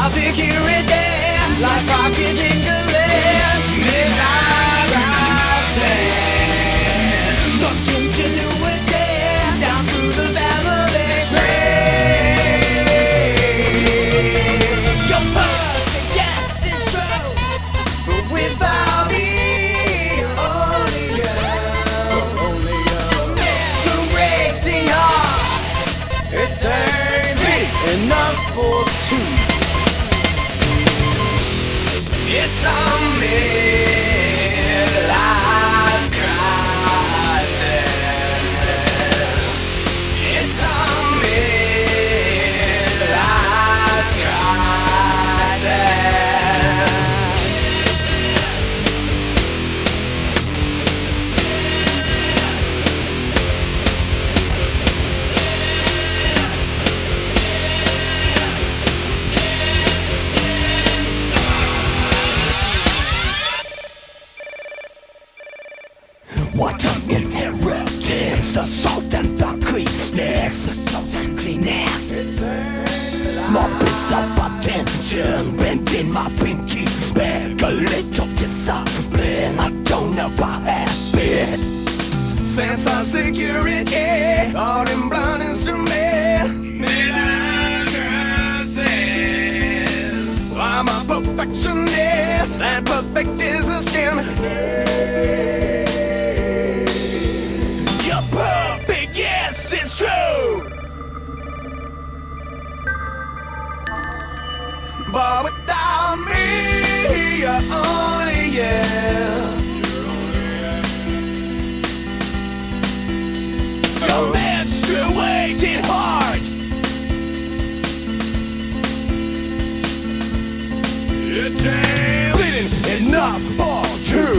security, like rockets in the land. Midnight rising, sunk continuity, down through the family tree. Your perfect guess is true, but without me, only you. Mental heart, it ain't me enough for two. It's a midlife crisis. It's a midlife crisis. What an inheritance, the salt and the Kleenex, the salt and Kleenex. More piece of attention, bending my pinky, beg a little discipline. I don't know about habit. Sense of security, all in blind instrument. Midnight crisis. I'm a perfectionist, and perfect is a skin. You're perfect, yes, it's true. But without me, you're only you. Your menstruated heart, it ain't bleeding enough for two.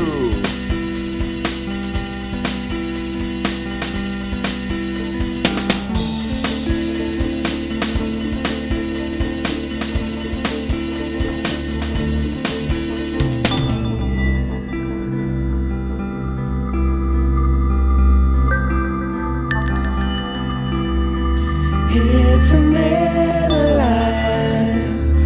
It's a midlife.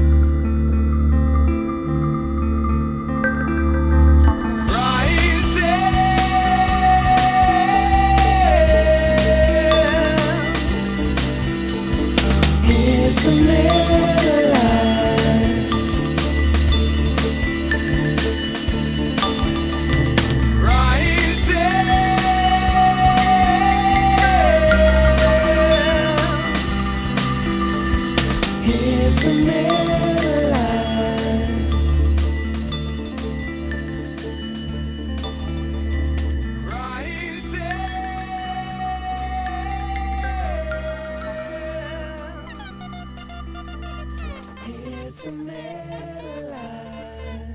It's a midlife. It's a midlife. It's a midlife.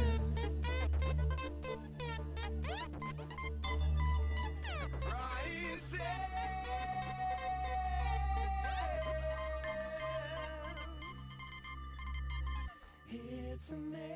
It's a midlife.